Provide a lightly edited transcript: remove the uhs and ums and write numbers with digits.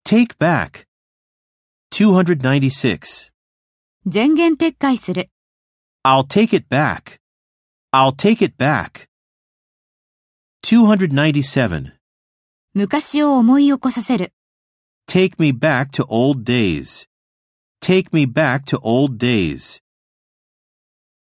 Take back. 296. 前言撤回する。 I'll take it back. I'll take it back. 297. 昔を思い起こさせる。 Take me back to old days. Take me back to old days.